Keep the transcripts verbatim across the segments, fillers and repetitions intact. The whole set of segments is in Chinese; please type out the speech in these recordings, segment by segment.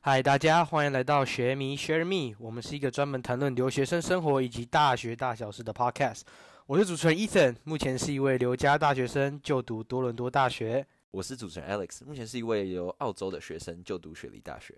嗨，大家欢迎来到学迷 Share Me， 我们是一个专门谈论留学生生活以及大学大小事的 podcast。我是主持人 Ethan， 目前是一位留家大学生，就读多伦多大学。 我是主持人 Alex， 目前是一位由澳洲的学生，就读雪梨大学。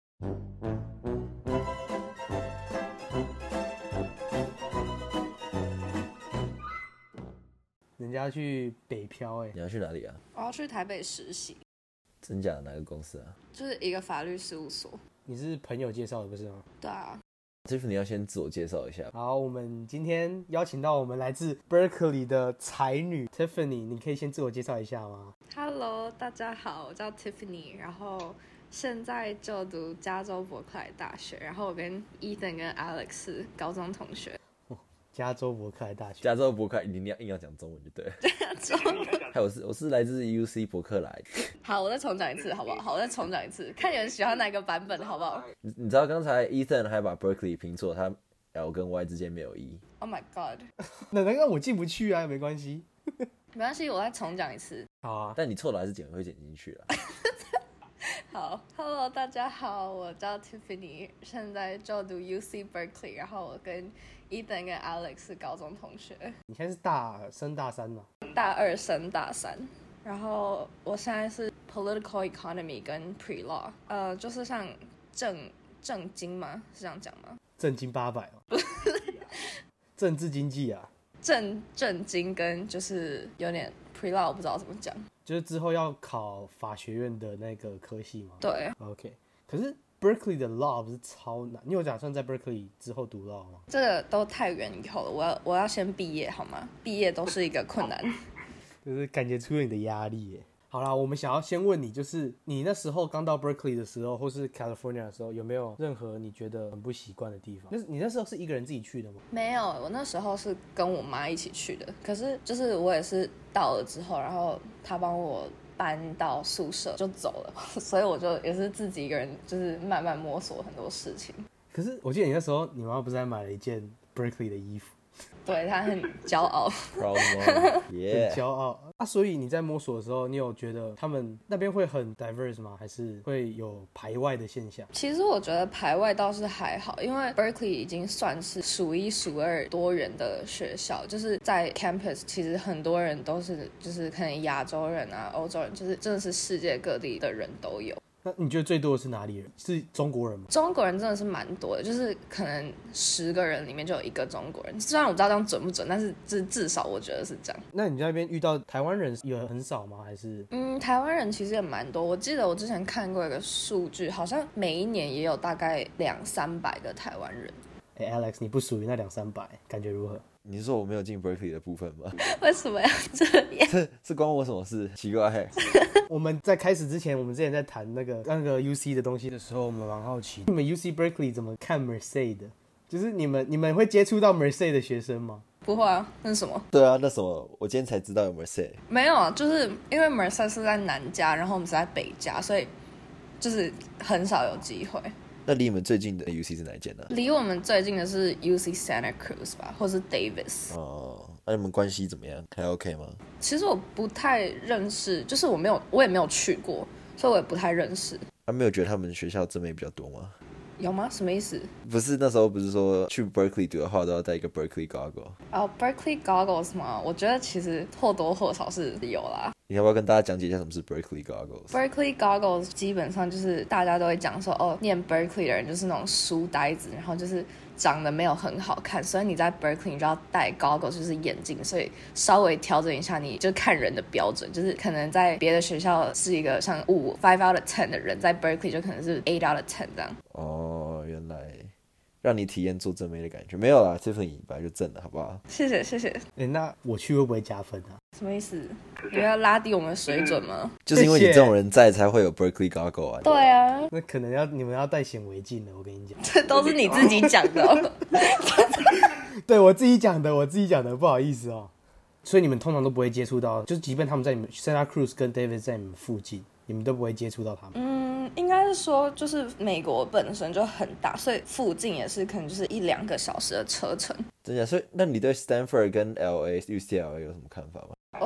人家去北漂哎、欸， 你要去哪里啊？ 我要去台北实习。 真假的哪个公司啊？ 就是一个法律事务所。 你是朋友介绍的不是吗？ 对啊。 Tiffany 要先自我介绍一下。 好，我们今天邀请到我们来自 Berkeley 的才女 Tiffany， 你可以先自我介绍一下吗？ Hello， 大家好，我叫 Tiffany， 然后现在就读加州伯克莱大学，然后我跟 Ethan 跟 Alex 是高中同学。 加州伯克莱大学， 加州伯克莱，你硬要硬要讲中文就对了。 中文。 还有我是我是来自 U C 伯克莱。 好，我再重讲一次，好不好？好，我再重讲一次，看你们喜欢哪个版本，好不好？ 你你知道刚才 Ethan 还把 Berkeley 拼错，他 L 跟 Y 之间没有 E。 Oh my god！ 那那我进不去啊，没关系。 没关系，我再重讲一次。 好啊， 但你错了还是剪会剪进去了。 好 ，Hello， 大家好，我叫 Tiffany， 现在就读 U C Berkeley， 然后我跟 Ethan 跟 Alex 是高中同学。 你现在是大升大三吗？ 大二升大三，然后我现在是 Political Economy 跟 Pre-Law， 呃，就是像政政经吗？是这样讲吗？ 政经八百哦，政治经济啊， 政政经跟就是有点 Pre-Law， 我不知道怎么讲。 就是之后要考法学院的那个科系吗？ 对 ，OK。可是 Berkeley 的 Law 不是超难？你有打算在 Berkeley 之后读 Law 吗？ 这个都太远以后了，我要我要先毕业好吗？毕业都是一个困难。 就是感觉出了你的压力耶。好啦，我们想要先问你，就是你那时候刚到 Berkeley 的时候，或是 California 的时候，有没有任何你觉得很不习惯的地方？那你那时候是一个人自己去的吗？ 没有，我那时候是跟我妈一起去的。可是就是我也是到了之后，然后她帮我搬到宿舍就走了，所以我就也是自己一个人，就是慢慢摸索很多事情。 可是我记得你那时候，你妈妈不是还买了一件 Berkeley 的衣服？ 对，她很骄傲。 Proud mom， yeah， 很骄傲啊！所以你在摸索的时候，你有觉得他们那边会很 diverse 吗？还是会有排外的现象？ 其实我觉得排外倒是还好，因为 Berkeley 已经算是数一数二多元的学校，就是在 campus 其实很多人都是就是可能亚洲人啊、欧洲人，就是真的是世界各地的人都有。 那你觉得最多的是哪里人？是中国人吗？ 中国人真的是蛮多的，就是可能十个人里面就有一个中国人。虽然我不知道这样准不准，但是至至少我觉得是这样。 那你在那边遇到台湾人有很少吗？还是？ 嗯，台湾人其实也蛮多。我记得我之前看过一个数据，好像每一年也有大概两三百个台湾人。 哎、欸、，Alex， 你不属于那两三百，感觉如何？ 你是说我没有进 Berkeley 的部分吗？ 为什么要这样？ 这是关我什么事？奇怪、欸。 我们在开始之前，我们之前在谈那个那个 U C 的东西的时候，我们蛮好奇，你们 U C Berkeley 怎么看 Merced 的？就是你们你们会接触到 Merced 的学生吗？ 不会啊，那是什么？ 对啊，那什么？我今天才知道有 Merced。 没有啊，就是因为 Merced 是在南加，然后我们是在北加，所以就是很少有机会。 那离你们最近的 U C 是哪一间呢、啊？ 离我们最近的是 U C Santa Cruz 吧，或是 Davis。 哦，那你们关系怎么样？还 OK 吗？ 其实我不太认识，就是我没有，我也没有去过，所以我也不太认识。 他、啊、没有觉得他们学校正妹比较多吗？ 有吗？什么意思？ 不是那时候不是说去 Berkeley 读的话都要带一个 Berkeley goggle？ 哦、oh, Berkeley goggles 吗？我觉得其实或多或少是有啦。 你要不要跟大家讲解一下什么是 Berkeley goggles？ Berkeley goggles 基本上就是大家都会讲说，哦，念 Berkeley 的人就是那种书呆子，然后就是长得没有很好看，所以你在 Berkeley 你就要戴 goggles， 就是眼镜，所以稍微调整一下你就看人的标准，就是可能在别的学校是一个像五 five out of ten 的人，在 Berkeley 就可能是 eight out of ten 这样。 哦，原来让你体验做正妹的感觉。没有啦 Tiffany 本来就正的好不好？ 谢谢谢谢。 哎、欸，那我去会不会加分啊？ 什么意思？你要拉低我们的水准吗？ 就是因为你这种人在才会有 Berkeley goggle 啊。 对啊， 那可能要你们要戴显微镜的，我跟你讲。 这都是你自己讲的、哦。 对，我自己讲的，我自己讲的，不好意思哦。所以你们通常都不会接触到，就是即便他们在你们 Santa Cruz 跟 Davis 在你们附近，你们都不会接触到他们。 嗯，应该是说，就是美国本身就很大，所以附近也是可能就是一两个小时的车程。 真的，所以那你对 Stanford 跟 L A U C L A 有什么看法吗？ 哦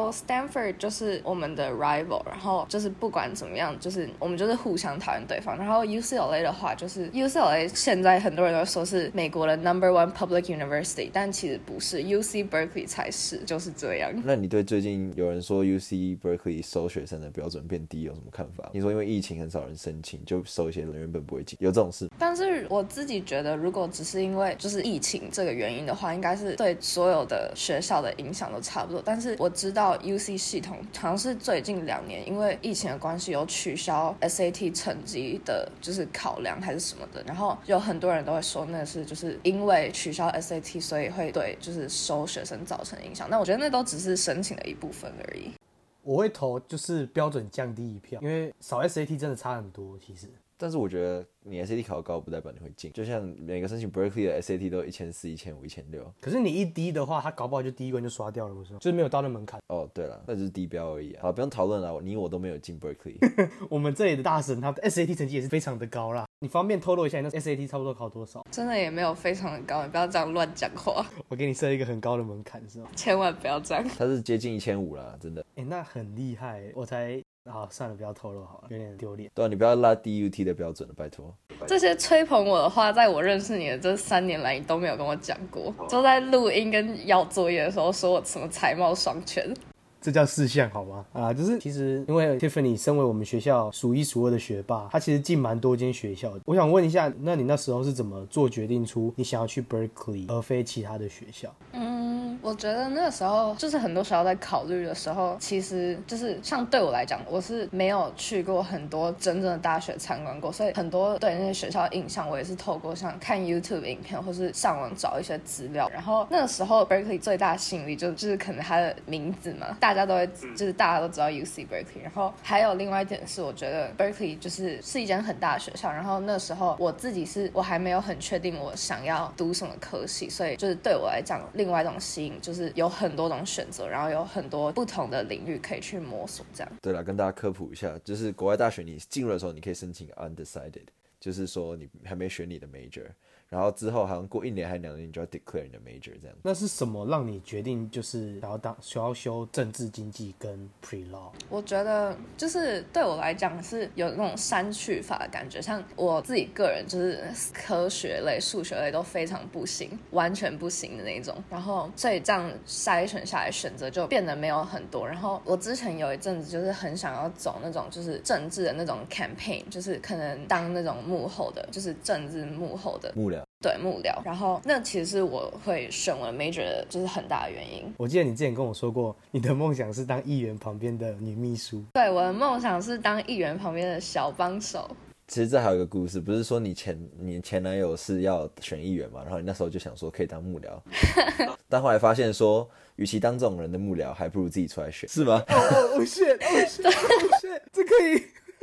后 Stanford 就是我们的 rival， 然后就是不管怎么样，就是我们就是互相讨厌对方。然后 U C L A 的话，就是 U C L A 现在很多人都说是美国的 number one public university， 但其实不是 ，U C Berkeley 才是，就是这样。 那你对最近有人说 U C Berkeley 收学生的标准变低有什么看法？你说因为疫情很少人申请，就收一些人原本不会进，有这种事？ 但是我自己觉得，如果只是因为就是疫情这个原因的话，应该是对所有的学校的影响都差不多。但是我知道 U C 系统好像是最近两年因为疫情的关系有取消 S A T 成绩的，就是考量还是什么的，然后有很多人都会说那是就是因为取消 S A T， 所以会对就是收学生造成影响。那我觉得那都只是申请的一部分而已。 我会投就是标准降低一票，因为少 S A T 真的差很多，其实。 但是我觉得你 S A T 考高不代表你会进，就像每个申请 Berkeley 的 S A T 都一千四、一千五、一千六。 可是你一低的话，他搞不好就第一关就刷掉了，不是吗？就是没有到那门槛。 哦，对了，那只是低标而已啊。好，不用讨论了，你我都没有进 Berkeley。 我们这里的大神，他的 S A T 成绩也是非常的高啦。你方便透露一下，你那 S A T 差不多考多少？ 真的也没有非常的高，你不要这样乱讲话。 我给你设一个很高的门槛，是吗？ 千万不要这样。 他是接近一千五啦，真的。 哎、欸，那很厉害，我才。好，算了，不要透露好了，有点丢脸。 对啊，你不要拉 D U T 的标准了，拜托。 这些吹捧我的话，在我认识你的这三年来，你都没有跟我讲过，就在录音跟交作业的时候，说我什么才貌双全。 这叫事项好吗？啊，就是其实因为 Tiffany 身为我们学校数一数二的学霸，她其实进蛮多间学校的。我想问一下，那你那时候是怎么做决定出你想要去 Berkeley 而非其他的学校？ 嗯，我觉得那个时候就是很多学校在考虑的时候，其实就是像对我来讲，我是没有去过很多真正的大学参观过，所以很多对那些学校的印象，我也是透过像看 YouTube 影片或是上网找一些资料。然后那个时候 Berkeley 最大的吸引力就就是可能它的名字嘛，大家都会就是大家都知道 U C Berkeley。然后还有另外一点是，我觉得 Berkeley 就是是一间很大的学校。然后那时候我自己是我还没有很确定我想要读什么科系，所以就是对我来讲，另外一种吸引就是有很多种选择，然后有很多不同的领域可以去摸索。这样。 对了，跟大家科普一下，就是国外大学你进入的时候，你可以申请 undecided， 就是说你还没选你的 major。然后之后好像过一年还两年，你就要 declare 你的 major 这样。 那是什么让你决定就是想要当想要修政治经济跟 pre law？ 我觉得就是对我来讲是有那种删去法的感觉，像我自己个人就是科学类、数学类都非常不行，完全不行的那种。然后所以这样筛选下来，选择就变得没有很多。然后我之前有一阵子就是很想要走那种就是政治的那种 campaign， 就是可能当那种幕后的，就是政治幕后的幕僚。 对，幕僚。然后那其实是我会选我的 major 的就是很大的原因。 我记得你之前跟我说过，你的梦想是当议员旁边的女秘书。 对，我的梦想是当议员旁边的小帮手。 其实这还有一个故事，不是说你前你前男友是要选议员嘛，然后你那时候就想说可以当幕僚，但后来发现说，与其当这种人的幕僚，还不如自己出来选，是吗？ 哦哦哦 shit oh shit oh shit， 这可以？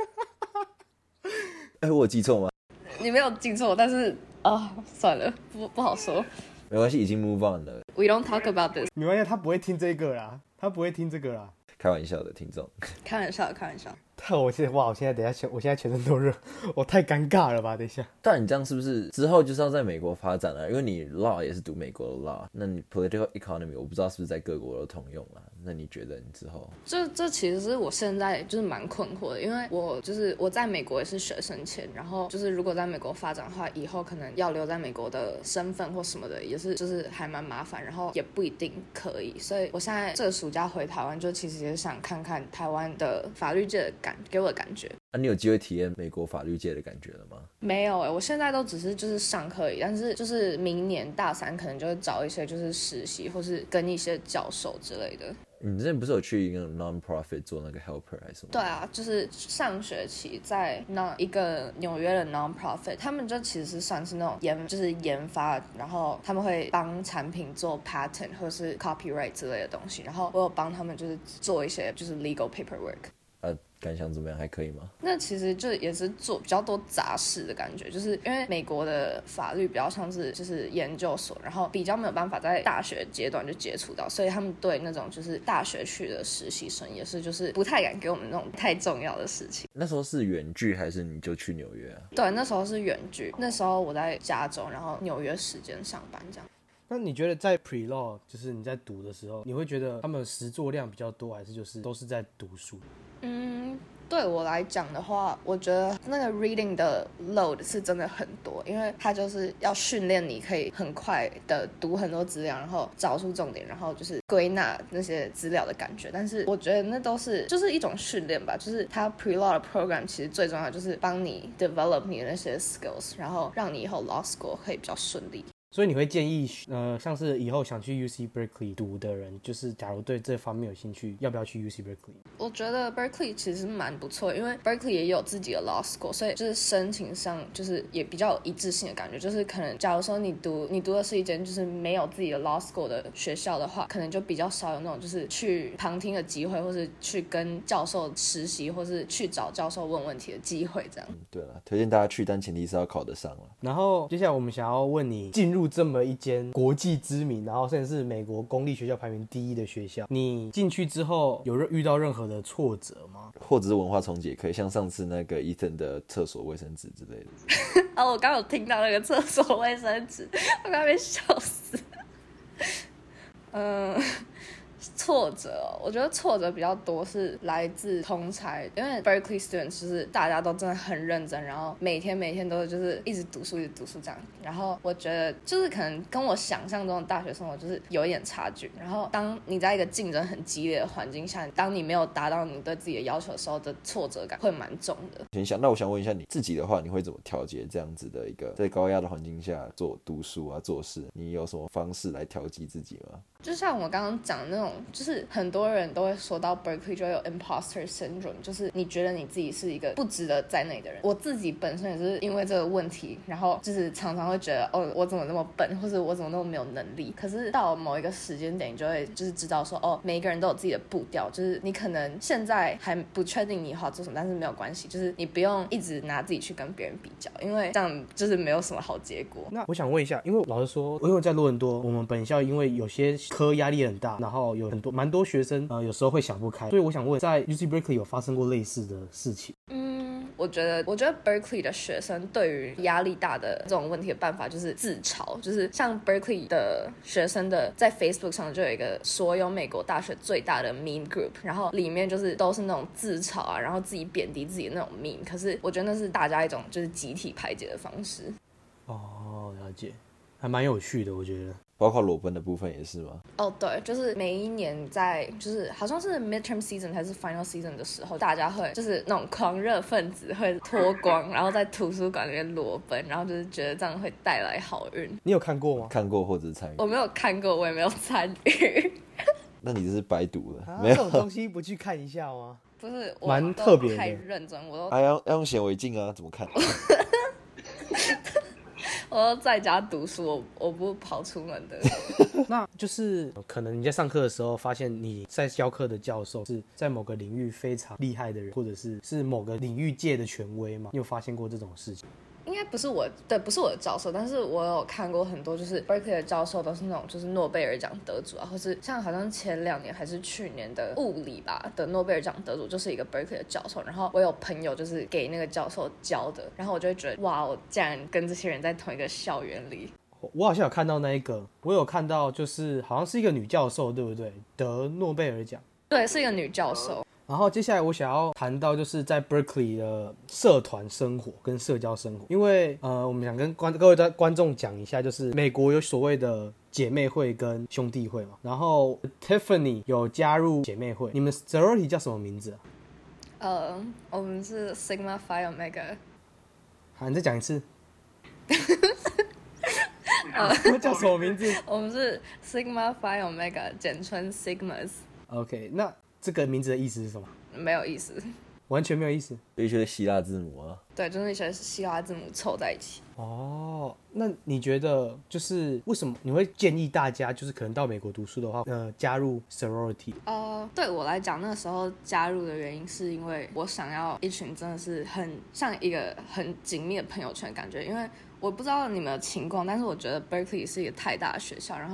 哎，我有记错吗？ 你没有记错，但是啊、哦，算了，不不好说。 没关系，已经 move on 了。 We don't talk about this。 没关系，他不会听这个啦，他不会听这个啦。 开玩笑的，听众。 开玩笑，开玩笑。 但我现在哇，我现在等一下，我现在全身都热，我太尴尬了吧？等一下。 但你这样是不是之后就是要在美国发展了、啊？因为你 law 也是读美国的 law， 那你 political economy 我不知道是不是在各国都通用啦。那你觉得你之后？ 这这其实是我现在就是蛮困惑的，因为我就是我在美国也是学生签，然后就是如果在美国发展的话，以后可能要留在美国的身份或什么的，也是就是还蛮麻烦，然后也不一定可以。所以我现在这个暑假回台湾，就其实也是想看看台湾的法律界的感给我的感觉。 啊，你有机会体验美国法律界的感觉了吗？ 没有哎、欸，我现在都只是就是上课而已，但是就是明年大三可能就会找一些就是实习，或是跟一些教授之类的。 你之前不是有去一个 non-profit 做那个 helper 还是什么？ 对啊，就是上学期在那一个纽约的 non-profit， 他们就其实是算是那种研，就是研发，然后他们会帮产品做 patent 或是 copyright 之类的东西，然后我有帮他们就是做一些就是 legal paperwork。 啊，感想怎么样？还可以吗？ 那其实就也是做比较多杂事的感觉，就是因为美国的法律比较像是就是研究所，然后比较没有办法在大学阶段就接触到，所以他们对那种就是大学去的实习生也是就是不太敢给我们那种太重要的事情。 那时候是远距还是你就去纽约啊？ 对，那时候是远距，那时候我在加州，然后纽约时间上班这样。 那你觉得在 pre-law 就是你在读的时候，你会觉得他们实作量比较多，还是就是都是在读书？ 嗯，对我来讲的话，我觉得那个 reading 的 load 是真的很多，因为它就是要训练你可以很快的读很多资料，然后找出重点，然后就是归纳那些资料的感觉。但是我觉得那都是就是一种训练吧，就是它 pre-law 的 program 其实最重要就是帮你 develop 你的那些 skills， 然后让你以后 law school 可以比较顺利。 所以你会建议，呃，像是以后想去 U C Berkeley 读的人，就是假如对这方面有兴趣，要不要去 U C Berkeley？ 我觉得 Berkeley 其实蛮不错，因为 Berkeley 也有自己的 law school， 所以就是申请上就是也比较有一致性的感觉。就是可能假如说你读你读的是一间就是没有自己的 law school 的学校的话，可能就比较少有那种就是去旁听的机会，或是去跟教授实习，或是去找教授问问题的机会这样。 嗯，对了，推荐大家去，但前提是要考得上了。 然后接下来我们想要问你，进入这么一间国际知名，然后甚至是美国公立学校排名第一的学校，你进去之后有遇到任何的挫折吗？ 或者是文化冲击也可以，像上次那个 Ethan 的厕所卫生纸之类的。 哦，我刚刚有听到那个厕所卫生纸，我刚被笑死。嗯。挫折、哦，我觉得挫折比较多是来自同侪，因为 Berkeley students 就是大家都真的很认真，然后每天每天都就是一直读书一直读书这样。然后我觉得就是可能跟我想象中的大学生活就是有一点差距。然后当你在一个竞争很激烈的环境下，当你没有达到你对自己的要求的时候的挫折感会蛮重的。 先想，那我想问一下你自己的话，你会怎么调节这样子的一个在高压的环境下做读书啊做事？你有什么方式来调剂自己吗？ 就像我刚刚讲的那种，就是很多人都会说到 Berkeley 就有 imposter syndrome， 就是你觉得你自己是一个不值得在内的人。我自己本身也是因为这个问题，然后就是常常会觉得哦，我怎么那么笨，或者我怎么那么没有能力。可是到某一个时间点，你就会就是知道说哦，每一个人都有自己的步调，就是你可能现在还不确定你以后要做什么，但是没有关系，就是你不用一直拿自己去跟别人比较，因为这样就是没有什么好结果。 那我想问一下，因为老实说，因为在多伦多，我们本校因为有些科压力很大，然后有很多蛮多学生呃有时候会想不开，所以我想问，在 U C Berkeley 有发生过类似的事情？ 嗯，我觉得，我觉得 Berkeley 的学生对于压力大的这种问题的办法就是自嘲，就是像 Berkeley 的学生的在 Facebook 上就有一个所有美国大学最大的 meme group， 然后里面就是都是那种自嘲啊，然后自己贬低自己的那种 meme， 可是我觉得那是大家一种就是集体排解的方式。 哦，了解，还蛮有趣的，我觉得。 包括裸奔的部分也是吗？ 哦，对，就是每一年在就是好像是 midterm season 还是 final season 的时候，大家会就是那种狂热分子会脱光，然后在图书馆里面裸奔，然后就是觉得这样会带来好运。 你有看过吗？ 看过或者是参与？ 我没有看过，我也没有参与。 那你这是白读了， 啊、 没有这种东西不去看一下吗？ 不是，我蛮特别的， 太认真，我都还、啊、要要用显微镜啊，怎么看？ 我都在家读书，我我不跑出门的。 那就是可能你在上课的时候，发现你在教课的教授是在某个领域非常厉害的人，或者是是某个领域界的权威吗？你有发现过这种事情？ 应该不是我的，不是我的教授，但是我有看过很多，就是 Berkeley 的教授都是那种就是诺贝尔奖得主啊，或是像好像前两年还是去年的物理吧的诺贝尔奖得主，就是一个 Berkeley 的教授。然后我有朋友就是给那个教授教的，然后我就会觉得哇，我竟然跟这些人在同一个校园里。 我好像有看到那一个，我有看到就是好像是一个女教授，对不对？得诺贝尔奖。 对，是一个女教授。 然后接下来我想要谈到就是在 Berkeley 的社团生活跟社交生活，因为呃，我们想跟观各位观众讲一下，就是美国有所谓的姐妹会跟兄弟会嘛。然后 Tiffany 有加入姐妹会，你们 sorority 叫什么名字啊？ 呃，我们是 Sigma Phi Omega。 好，你再讲一次。呃，叫什么名字？ 我们是 Sigma Phi Omega， 简称 Sigmas。OK， 那这个名字的意思是什么？ 没有意思， 完全没有意思。 一些希腊字母啊。 对，就是一些希腊字母凑在一起。 哦，那你觉得就是为什么你会建议大家就是可能到美国读书的话，呃，加入 sorority？ 呃，对我来讲，那个时候加入的原因是因为我想要一群真的是很像一个很紧密的朋友圈的感觉，因为我不知道你们的情况，但是我觉得 Berkeley 是一个太大的学校，然后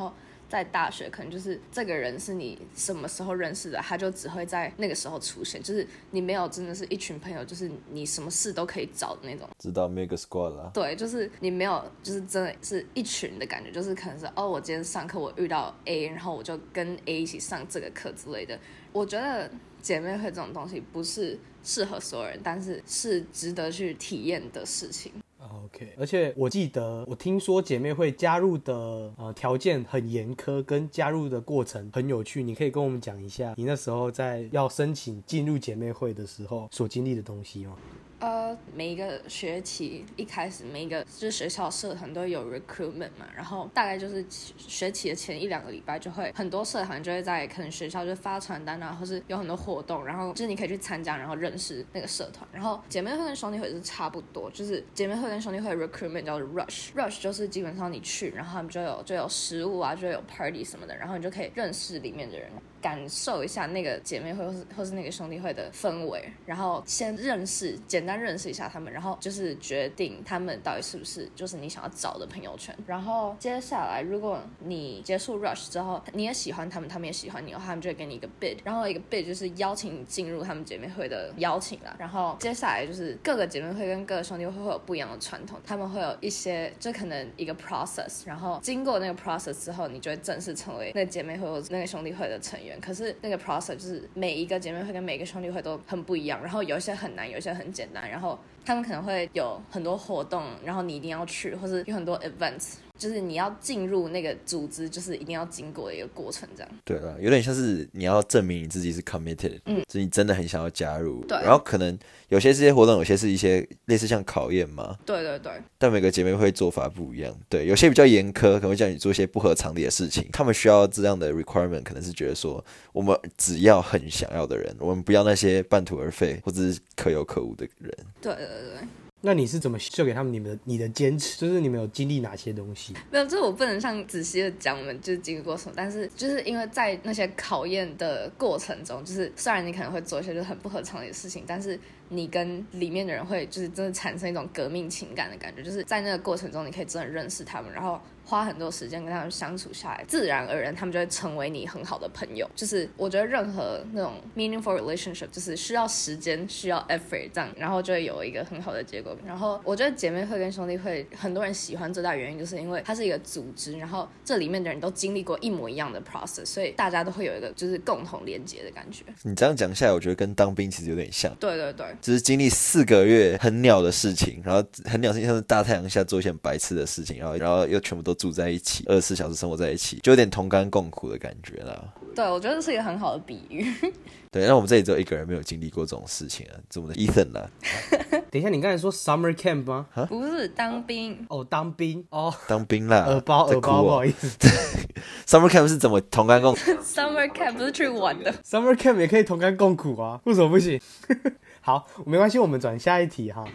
在大学可能就是这个人是你什么时候认识的，他就只会在那个时候出现，就是你没有真的是一群朋友，就是你什么事都可以找的那种。 知道 Mega Squad 啦。 对，就是你没有就是真的是一群的感觉，就是可能是哦，我今天上课我遇到 A， 然后我就跟 A 一起上这个课之类的。我觉得姐妹会这种东西不是适合所有人，但是是值得去体验的事情。 OK， 而且我记得我听说姐妹会加入的呃条件很严苛，跟加入的过程很有趣，你可以跟我们讲一下你那时候在要申请进入姐妹会的时候所经历的东西吗？ 呃，每一个学期一开始，每一个就是学校社团都有 recruitment 嘛，然后大概就是学期的前一两个礼拜，就会很多社团就会在可能学校就发传单啊，或是有很多活动，然后就是你可以去参加，然后认识那个社团。然后姐妹会跟兄弟会是差不多，就是姐妹会跟兄弟会的 recruitment 叫做 rush，rush 就是基本上你去，然后他们就有就有食物啊，就有 party 什么的，然后你就可以认识里面的人，感受一下那个姐妹会或是或是那个兄弟会的氛围，然后先认识简单认识一下他们，然后就是决定他们到底是不是就是你想要找的朋友圈。然后接下来如果你结束 rush 之后，你也喜欢他们，他们也喜欢你，他们就会给你一个 bid， 然后一个 bid 就是邀请你进入他们姐妹会的邀请啦。然后接下来就是各个姐妹会跟各个兄弟会会有不一样的传统，他们会有一些就可能一个 process， 然后经过那个 process 之后，你就会正式成为那个姐妹会或那个兄弟会的成员。可是那个 process 就是每一个姐妹会跟每一个兄弟会都很不一样，然后有一些很难，有一些很简单，然后他们可能会有很多活动，然后你一定要去，或是有很多 events， 就是你要进入那个组织，就是一定要经过的一个过程这样。 对了，有点像是你要证明你自己是 committed， 嗯，就是你真的很想要加入。 对， 然后可能有些这些活动，有些是一些类似像考验嘛。 对对对。 但每个姐妹会做法不一样，对，有些比较严苛，可能会叫你做一些不合常理的事情。他们需要这样的 requirement， 可能是觉得说，我们只要很想要的人，我们不要那些半途而废或者是可有可无的人。 对对对。 那你是怎么秀给他们你们的你的坚持？就是你们有经历哪些东西？ 没有，这我不能像仔细的讲我们就是经历过什么，但是就是因为在那些考验的过程中，就是虽然你可能会做一些就是很不合常理的事情，但是你跟里面的人会就是真的产生一种革命情感的感觉，就是在那个过程中你可以真的认识他们，然后花很多时间跟他们相处下来，自然而然他们就会成为你很好的朋友。就是我觉得任何那种 meaningful relationship 就是需要时间需要 effort 这样，然后就会有一个很好的结果。然后我觉得姐妹会跟兄弟会很多人喜欢最大原因就是因为它是一个组织，然后这里面的人都经历过一模一样的 process， 所以大家都会有一个就是共同连结的感觉。 你这样讲下来，我觉得跟当兵其实有点像。 对对对， 就是经历四个月很鸟的事情，然后很鸟的事情像是大太阳下做一些很白痴的事情，然后然后又全部都住在一起，二十四小时生活在一起，就有点同甘共苦的感觉啦。 对，我觉得这是一个很好的比喻。 对，那我们这里只有一个人没有经历过这种事情啊，是我们的 Ethan 啦。 等一下，你刚才说 summer camp 吗？ 不是当兵哦，当兵哦， 当兵啦， 耳包耳包，不好意思。 Summer camp 是怎么同甘共苦 ？Summer camp 不是去玩的。 Summer camp 也可以同甘共苦啊，为什么不行？好，没关系，我们转下一题哈。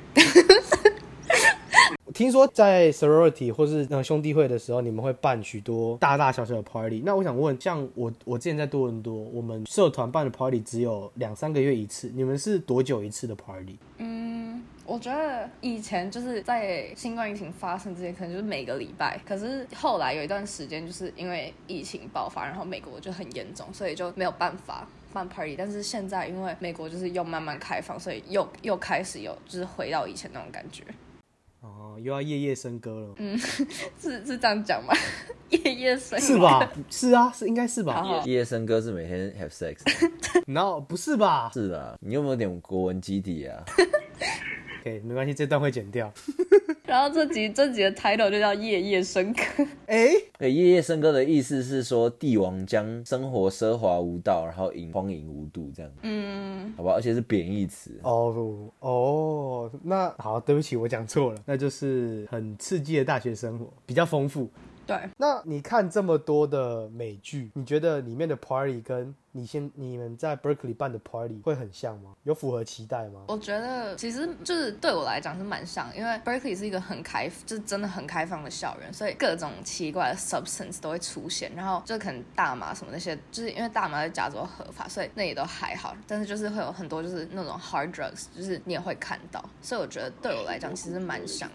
听说在 sorority 或是那兄弟会的时候，你们会办许多大大小小的 party。那我想问，像我我之前在多伦多，我们社团办的 party 只有两三个月一次，你们是多久一次的 party？ 嗯，我觉得以前就是在新冠疫情发生之前，可能就是每个礼拜。可是后来有一段时间，就是因为疫情爆发，然后美国就很严重，所以就没有办法办 party。但是现在因为美国就是又慢慢开放，所以又又开始有就是回到以前那种感觉。 哦，又要夜夜笙歌了。 嗯，是是这样讲吗？夜夜笙歌是吧？是啊，是应该是吧？ 夜夜笙歌是每天 have sex， 然后不是吧？ 是啦，你有没有点国文基底啊 ？OK， 没关系，这段会剪掉。 然后这集这集的 title 就叫夜夜笙歌。 哎、 欸，夜夜笙歌的意思是说帝王将生活奢华无道，然后饮荒淫无度这样。嗯，好吧，而且是贬义词。 哦哦，那好，对不起，我讲错了，那就是很刺激的大学生活，比较丰富。 对， 那你看这么多的美剧，你觉得里面的 party 跟你先你们在 Berkeley 办的 party 会很像吗？有符合期待吗？ 我觉得其实就是对我来讲是蛮像，因为 Berkeley 是一个很开，就是真的很开放的校园，所以各种奇怪的 substance 都会出现，然后就可能大麻什么那些，就是因为大麻在加州合法，所以那也都还好，但是就是会有很多就是那种 hard drugs， 就是你也会看到，所以我觉得对我来讲其实蛮像的。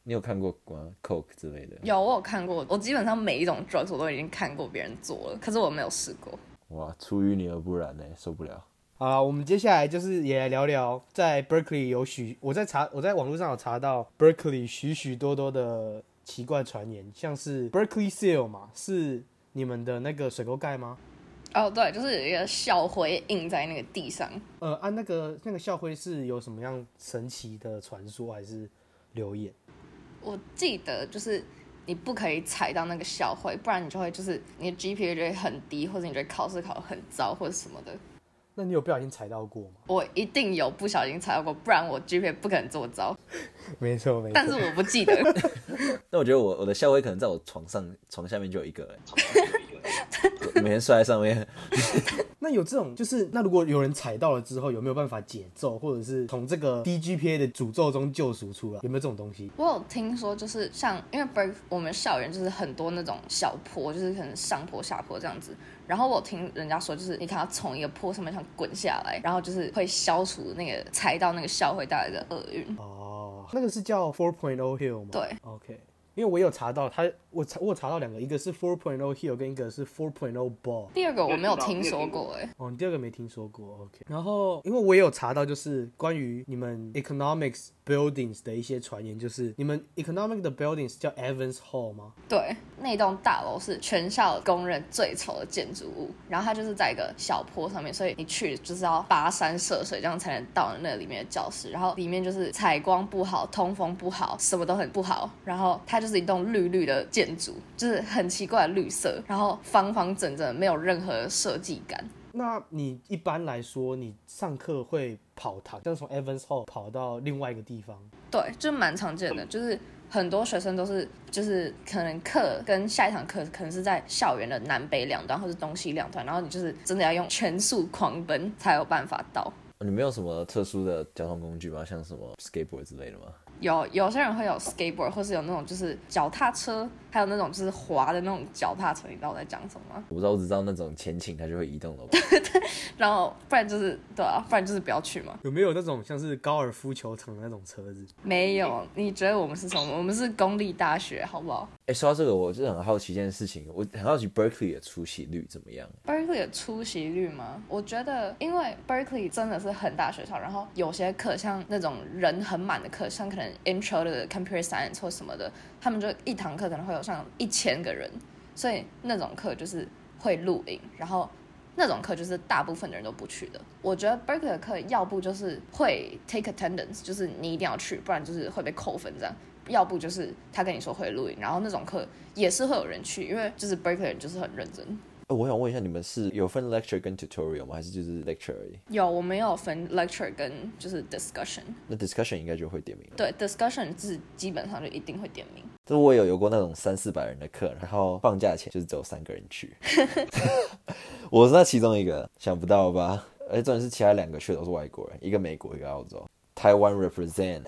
你有看过吗 ？Coke 之类的？ 有，我有看过，我基本上每一种 drugs 我都已经看过别人做了，可是我没有试过。 哇，出淤泥而不染呢，受不了。 好啦，我们接下来就是也来聊聊，在 Berkeley 有许我在查我在网络上有查到 Berkeley 许许多多的奇怪传言，像是 Berkeley Seal 嘛，是你们的那个水沟盖吗？ 哦，对，就是有一个校徽印在那个地上。 呃，按、啊、那个那个校徽是有什么样神奇的传说还是流言？ 我记得就是你不可以踩到那个校徽，不然你就会就是你的 G P A 就会很低，或者你觉得考试考得很糟或者什么的。 那你有不小心踩到过吗？ 我一定有不小心踩到过，不然我 G P A 不可能这么糟。 没错没错， 但是我不记得。 那我觉得我我的校徽可能在我床上床下面就有一个了，每天睡在上面。 那有这种就是那如果有人踩到了之后，有没有办法解咒，或者是从这个低 G P A 的诅咒中救赎出来？有没有这种东西？ 我有听说，就是像因为 Berkeley 我们校园就是很多那种小坡，就是可能上坡下坡这样子。然后我听人家说，就是你看他从一个坡上面想滚下来，然后就是会消除那个踩到那个校徽带来的厄运。 哦，那个是叫 four point oh hill 吗？ 对 ，OK。因为我有查到他，我查我有查到两个，一个是 four point oh hill 跟一个是 four point oh ball。 第二个我没有听说过哎、欸。 哦，你第二个没听说过 ，OK。然后因为我也有查到，就是关于你们 economics buildings 的一些传言，就是你们 economic 的 buildings 叫 Evans Hall 吗？ 对，那栋大楼是全校公认最丑的建筑物，然后它就是在一个小坡上面，所以你去就是要跋山涉水，这样才能到那里面的教室。然后里面就是采光不好，通风不好，什么都很不好。然后它就是一栋绿绿的建筑，就是很奇怪的绿色，然后方方正正，没有任何设计感。 那你一般来说，你上课会跑堂，像从 Evans Hall 跑到另外一个地方？ 对，就蛮常见的，就是很多学生都是，就是可能课跟下一堂课可能是在校园的南北两端或是东西两端，然后你就是真的要用全速狂奔才有办法到。 你们有什么特殊的交通工具吗？像什么 skateboard 之类的吗？ 有有些人会有 skateboard， 或是有那种就是脚踏车，还有那种就是滑的那种脚踏车，你知道我在讲什么吗？ 我不知道，我只知道那种前倾它就会移动的。 然后不然就是对啊，不然就是不要去嘛。 有没有那种像是高尔夫球场的那种车子？ 没有，你觉得我们是什么？我们是公立大学，好不好？ 哎，说到这个，我就很好奇一件事情，我很好奇 Berkeley 的出席率怎么样 ？Berkeley 的出席率吗？我觉得，因为 Berkeley 真的是很大学校，然后有些课像那种人很满的课，像可能 Intro 的 Computer Science 或什么的，他们就一堂课可能会有像一千个人，所以那种课就是会录影，然后那种课就是大部分的人都不去的。我觉得 Berkeley 的课要不就是会 take attendance， 就是你一定要去，不然就是会被扣分这样。要不就是他跟你说会录影，然后那种课也是会有人去，因为就是 Berkeley 人就是很认真。 我想问一下，你们是有分 lecture 跟 tutorial 吗？还是就是 lecture 而已？ 有，我们有分 lecture 跟就是 discussion。 那 discussion 应该就会点名了。 对 ，discussion 是基本上就一定会点名。 就是我有有过那种三四百人的课，然后放假前就是只有三个人去。我是那其中一个，想不到吧？而且重点是其他两个去的都是外国人，一个美国，一个澳洲。台湾 represent。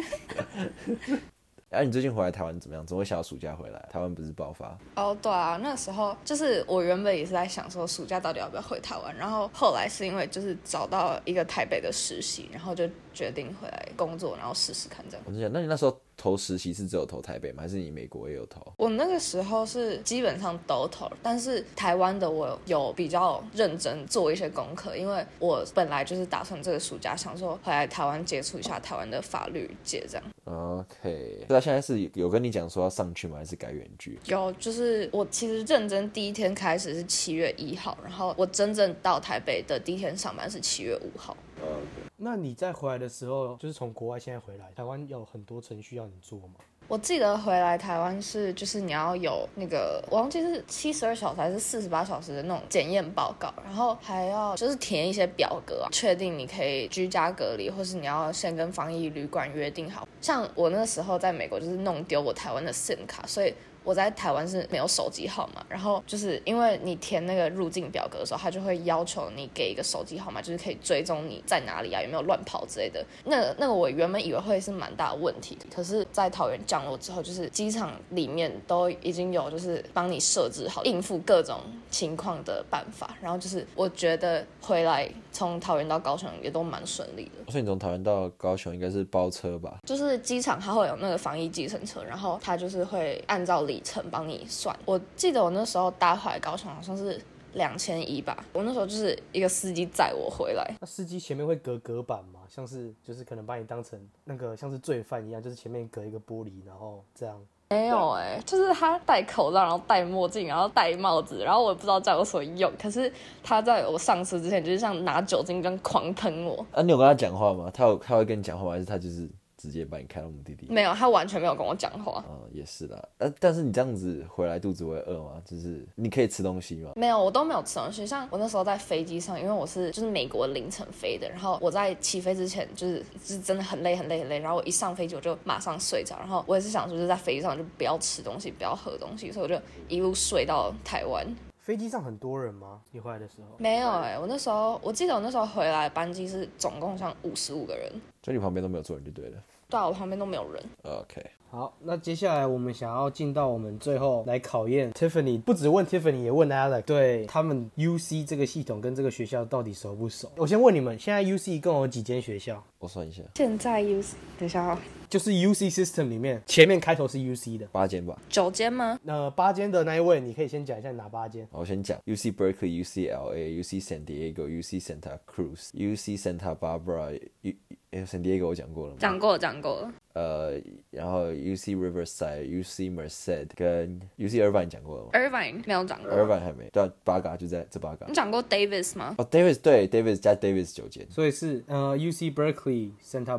哎、啊，你最近回来台湾怎么样？怎么会想要暑假回来？台湾不是爆发？ 哦， oh, 对啊，那时候就是我原本也是在想说暑假到底要不要回台湾，然后后来是因为就是找到一个台北的实习，然后就决定回来工作，然后试试看这样。 我就想，那你那时候投实习是只有投台北吗？还是你美国也有投？ 我那个时候是基本上都投，但是台湾的我有比较认真做一些功课，因为我本来就是打算这个暑假想说回来台湾接触一下台湾的法律界这样。 OK， 那现在是有跟你讲说要上去吗？还是改远距？ 有，就是我其实认真第一天开始是七月一号，然后我真正到台北的第一天上班是七月五号。 Okay. 那你在回来的时候，就是从国外现在回来，台湾有很多程序要你做吗？ 我记得回来台湾是，就是你要有那个，我忘记是七十二小时还是四十八小时的那种检验报告，然后还要就是填一些表格啊，确定你可以居家隔离，或是你要先跟防疫旅馆约定好。像我那时候在美国就是弄丢我台湾的 SIM 卡，所以我在台湾是没有手机号码，然后就是因为你填那个入境表格的时候，他就会要求你给一个手机号码，就是可以追踪你在哪里啊，有没有乱跑之类的。那个那个我原本以为会是蛮大的问题，可是在桃园降落之后，就是机场里面都已经有就是帮你设置好应付各种情况的办法，然后就是我觉得回来从桃园到高雄也都蛮顺利的。 所以你从桃园到高雄应该是包车吧？ 就是机场它会有那个防疫计程车，然后它就是会按照里程帮你算。我记得我那时候搭回来高雄好像是两千一吧，我那时候就是一个司机载我回来。 那司机前面会隔隔板吗？像是就是可能把你当成那个像是罪犯一样，就是前面隔一个玻璃，然后这样。 没有哎、欸，就是他戴口罩，然后戴墨镜，然后戴帽子，然后我也不知道这样有什么用。可是他在我上车之前，就是像拿酒精这样狂喷我。 啊，你有跟他讲话吗？他有他会跟你讲话吗？还是他就是直接把你开到目的地？ 没有，他完全没有跟我讲话。 嗯，也是啦。呃、啊，但是你这样子回来肚子会饿吗？就是你可以吃东西吗？ 没有，我都没有吃东西。像我那时候在飞机上，因为我是就是美国凌晨飞的，然后我在起飞之前就是就是真的很累很累很累，然后我一上飞机我就马上睡着，然后我也是想说就是在飞机上就不要吃东西，不要喝东西，所以我就一路睡到台湾。 飞机上很多人吗？你回来的时候？ 没有哎、欸，我那时候我记得我那时候回来班机是总共像五十五个人， 所以你旁边都没有坐人就对了。 对啊，我旁边都没有人。 OK， 好，那接下来我们想要进到我们最后来考验 Tiffany， 不只问 Tiffany， 也问 Alex， 对他们 U C 这个系统跟这个学校到底熟不熟？我先问你们，现在 U C 一共有几间学校？ 我算一下， 现在 U C 等一下哦， 就是 U C system 里面前面开头是 U C 的， 八间吧。 九间吗？ 那八间的那一位，你可以先讲一下哪八间？ 好，我先讲 U C Berkeley、U C L A、U C San Diego、U C Santa Cruz、U C Santa Barbara、U San Diego 我讲过了吗？ 讲过讲过了。 呃，然后 U C Riverside、U C Merced 跟 U C Irvine 讲过了吗 Irvine 没有讲过。 ？Irvine 还没，对啊，八个就在这八个。 你讲过 Davis 吗？ 哦 ，Davis 对 ，Davis 加 Davis 九间。 所以是呃 U C Berkeley、Santa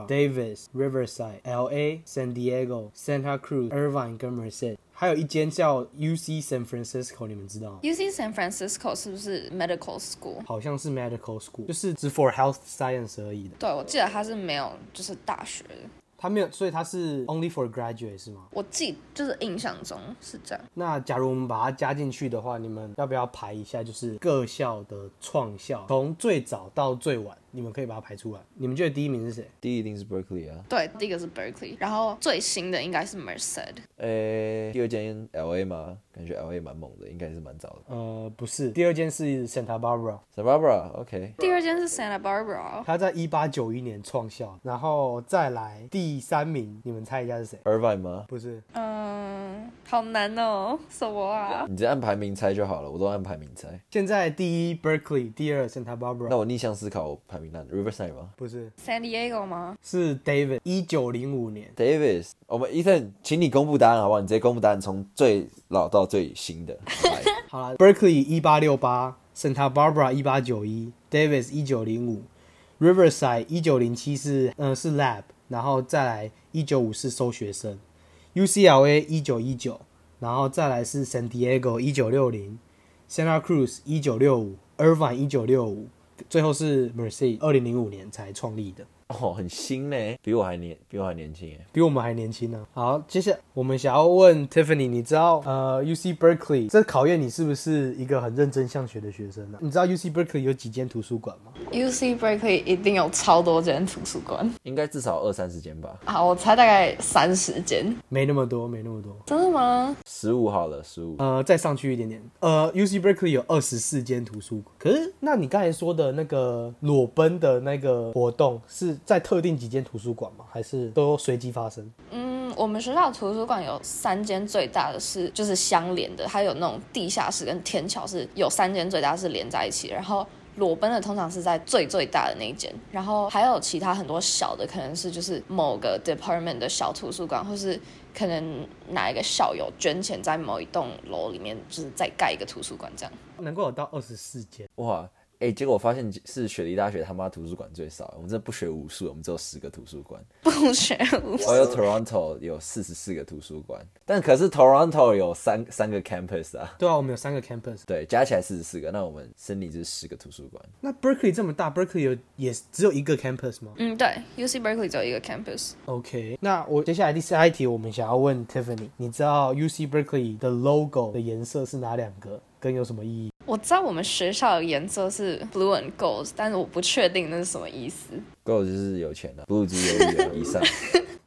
Barbara、Davis、Riverside、L A、San Diego、Santa Cruz、Irvine 跟 Merced， 还有一间叫 U C San Francisco， 你们知道吗？ U C San Francisco 是不是 Medical School？ 好像是 Medical School， 就是只 for Health Science 而已的。 对，我记得它是没有就是大学的。 他没有，所以他是 only for graduate 是吗？ 我记就是印象中是这样。 那假如我们把它加进去的话，你们要不要排一下，就是各校的创校，从最早到最晚，你们可以把它排出来。你们觉得第一名是谁？ 第一一定是 Berkeley 啊。 对，第一个是 Berkeley， 然后最新的应该是 Merced。 诶，第二间 L A 吗？感觉 L A 蛮猛的，应该是蛮早的。 呃，不是，第二间是 Santa Barbara， Santa Barbara，OK。 第二间是 Santa Barbara。 他在一八九一年创校，然后再来第三名，你们猜一下是谁？ Irvine 吗？ 不是， 嗯，好难哦，什么啊？ 你直接按排名猜就好了，我都按排名猜。 现在第一 Berkeley， 第二 Santa Barbara， 那我逆向思考，我排名烂 Riverside 吗不是， San Diego 吗？ 是 David， 一九零五年。 ？Davis，我们 Ethan， 请你公布答案好不好？你直接公布答案，从最老到最新的。来好了 ，Berkeley 一八六八，Santa Barbara 一八九一，Davis 一九零五，Riverside 一九零七是呃是 Lab， 然后再来一九五是收学生 ，U C L A 一九一九，然后再来是 San Diego 一九六零，Santa Cruz 一九六五，Irvine 一九六五，最后是 Merced 二零零五年才创立的。 哦，很新呢，比我还年，比我还年轻哎。 比我们还年轻呢、啊。好，接下来我们想要问 Tiffany， 你知道呃 U C Berkeley 这考验你是不是一个很认真向学的学生呢、啊？你知道 U C Berkeley 有几间图书馆吗？ U C Berkeley 一定有超多间图书馆应该至少二三十间吧。 啊，我猜大概三十间。 没那么多，没那么多。 真的吗？ 十五好了，十五。 呃，再上去一点点。呃 ，U C Berkeley 有二十四间图书馆。可是，那你刚才说的那个裸奔的那个活动是在特定几间图书馆吗？还是都随机发生？ 嗯，我们学校的图书馆有三间，最大的是就是相连的，它有那种地下室跟天桥是有三间最大是连在一起，然后裸奔的通常是在最最大的那一间，然后还有其他很多小的，可能是就是某个 department 的小图书馆，或是可能哪一个校友捐钱在某一栋楼里面，就是再盖一个图书馆这样。 能够有到二十四间。 哇，哎、欸，结果我发现是雪梨大学他妈图书馆最少，我们这不学无术，我们只有十个图书馆。 不学无术。 我有 Toronto 有四十四个图书馆，但可是 Toronto 有三三个 campus 啊。 对啊，我们有三个 campus。 对，加起来四十四个，那我们森林就是十个图书馆。 那 Berkeley 这么大 ，Berkeley 有也只有一个 campus 吗？ 嗯，对 ，U C Berkeley 只有一个 campus。 OK， 那我接下来第下一题，我们想要问 Tiffany， 你知道 U C Berkeley 的 logo 的颜色是哪两个，跟有什么意义？ 我知道我们学校的颜色是 blue and gold， 但是我不确定那是什么意思。 Gold 就是有钱的、啊、，Blue 就是有有以上。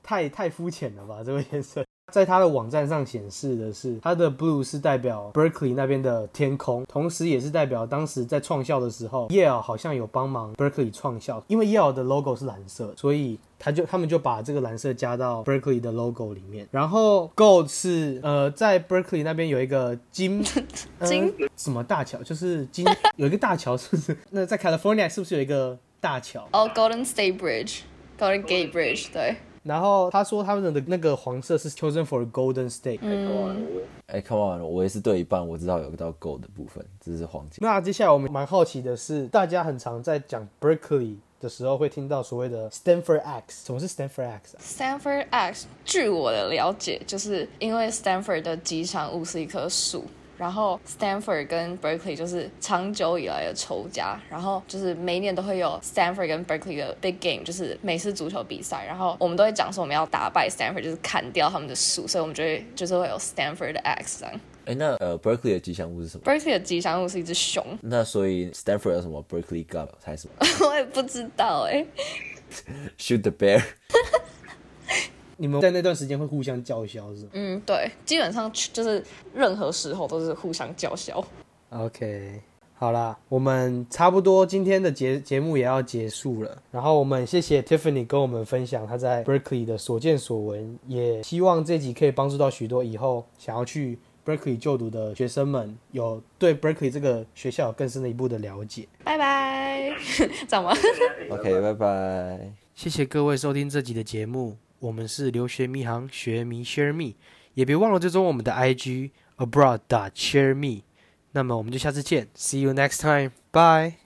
太太肤浅了吧，这个颜色。在它的网站上显示的是，它的 blue 是代表 Berkeley 那边的天空，同时也是代表当时在创校的时候 Yale 好像有帮忙 Berkeley 创校，因为 Yale 的 logo 是蓝色，所以他就他们就把这个蓝色加到 Berkeley 的 logo 里面。然后 Gold 是呃在 Berkeley 那边有一个金金、呃、什么大桥，就是金有一个大桥，是不是？那在 California 是不是有一个大桥？ 哦、oh, Golden State Bridge。Golden Gate Bridge， 对。 然后他说他们的那个黄色是 chosen for Golden State。 嗯， 哎、欸、，Come on， 我也是对一半，我知道有个到 Gold 的部分，这是黄金。 那接下来我们蛮好奇的是，大家很常在讲 Berkeley 的时候会听到所谓的 Stanford X， 什么是 Stanford X 啊？ Stanford X， 据我的了解，就是因为 Stanford 的吉祥物是一棵树。然后 Stanford 跟 Berkeley 就是长久以来的仇家，然后就是每一年都会有 Stanford 跟 Berkeley 的 big game， 就是美式足球比赛，然后我们都会讲说我们要打败 Stanford， 就是砍掉他们的树，所以我们就会就是会有 Stanford 的 X 这样。 哎，那呃 Berkeley 的吉祥物是什么？ Berkeley 的吉祥物是一只熊。 那所以 Stanford 有什么 Berkeley God 还是什么？ 我也不知道哎、欸。 Shoot the bear 你们在那段时间会互相叫嚣是吗？ 嗯，对，基本上就是任何时候都是互相叫嚣。 OK， 好啦，我们差不多今天的节节目也要结束了。然后我们谢谢 Tiffany 跟我们分享她在 Berkeley 的所见所闻，也希望这集可以帮助到许多以后想要去 Berkeley 就读的学生们，有对 Berkeley 这个学校有更深的一步的了解。 拜拜，这样吗 ？OK， 拜拜。 谢谢各位收听这集的节目。我们是留学迷航，学迷 share me， 也别忘了追踪我们的 I G abroad dot share me。那么我们就下次见 ，See you next time， bye。